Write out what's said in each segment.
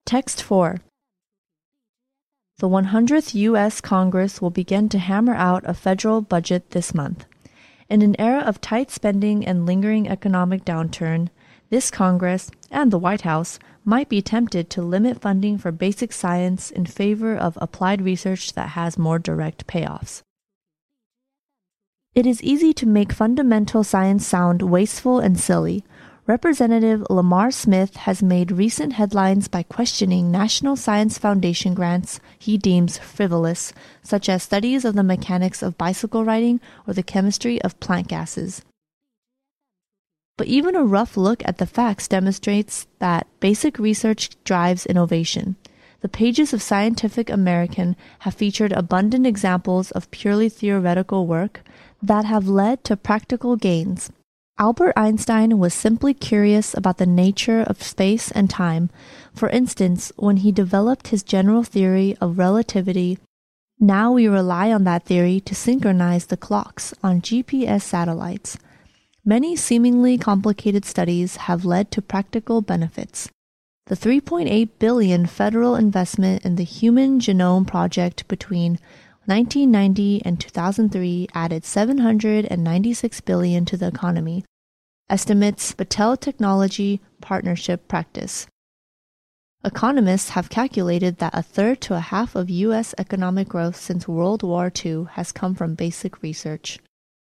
Text 4. The 100th U.S. Congress will begin to hammer out a federal budget this month. In an era of tight spending and lingering economic downturn, this Congress and the White House might be tempted to limit funding for basic science in favor of applied research that has more direct payoffs. It is easy to make fundamental science sound wasteful and silly. Representative Lamar Smith has made recent headlines by questioning National Science Foundation grants he deems frivolous, such as studies of the mechanics of bicycle riding or the chemistry of plant gases. But even a rough look at the facts demonstrates that basic research drives innovation. The pages of Scientific American have featured abundant examples of purely theoretical work that have led to practical gains. Albert Einstein was simply curious about the nature of space and time. For instance, when he developed his general theory of relativity, now we rely on that theory to synchronize the clocks on GPS satellites. Many seemingly complicated studies have led to practical benefits. The $3.8 billion federal investment in the Human Genome Project between 1990 and 2003 added $796 billion to the economy, estimates Battelle Technology Partnership Practice. Economists have calculated that a third to a half of U.S. economic growth since World War II has come from basic research.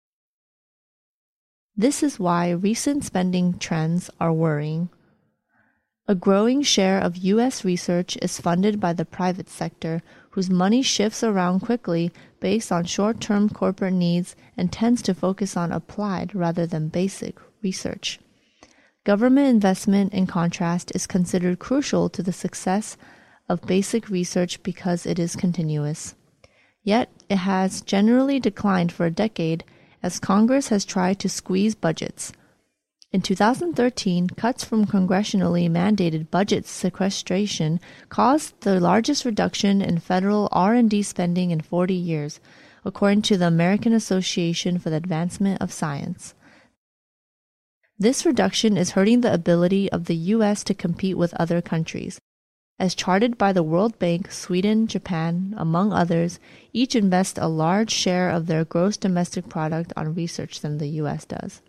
This is why recent spending trends are worrying. A growing share of U.S. research is funded by the private sector, whose money shifts around quickly based on short-term corporate needs and tends to focus on applied rather than basic research. Government investment, in contrast, is considered crucial to the success of basic research because it is continuous. Yet, it has generally declined for a decade as Congress has tried to squeeze budgets. In 2013, cuts from congressionally mandated budget sequestration caused the largest reduction in federal R&D spending in 40 years, according to the American Association for the Advancement of Science. This reduction is hurting the ability of the U.S. to compete with other countries. As charted by the World Bank, Sweden, Japan, among others, each invest a large share of their gross domestic product on research than the U.S. does.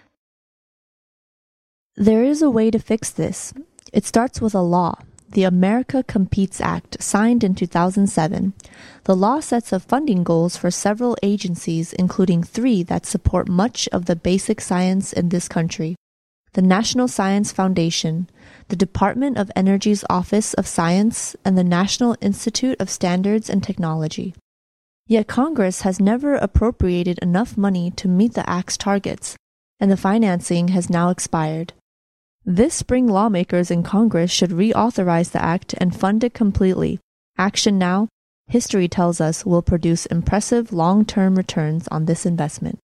There is a way to fix this. It starts with a law, the America Competes Act, signed in 2007. The law sets up funding goals for several agencies, including 3 that support much of the basic science in this country: the National Science Foundation, the Department of Energy's Office of Science, and the National Institute of Standards and Technology. Yet Congress has never appropriated enough money to meet the Act's targets, and the financing has now expired. This spring, lawmakers in Congress should reauthorize the Act and fund it completely. Action now, history tells us, will produce impressive long-term returns on this investment.